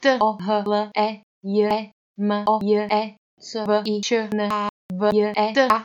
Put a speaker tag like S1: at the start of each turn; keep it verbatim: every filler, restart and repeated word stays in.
S1: T O H L E J E M O J E C V I Č N A V J E T A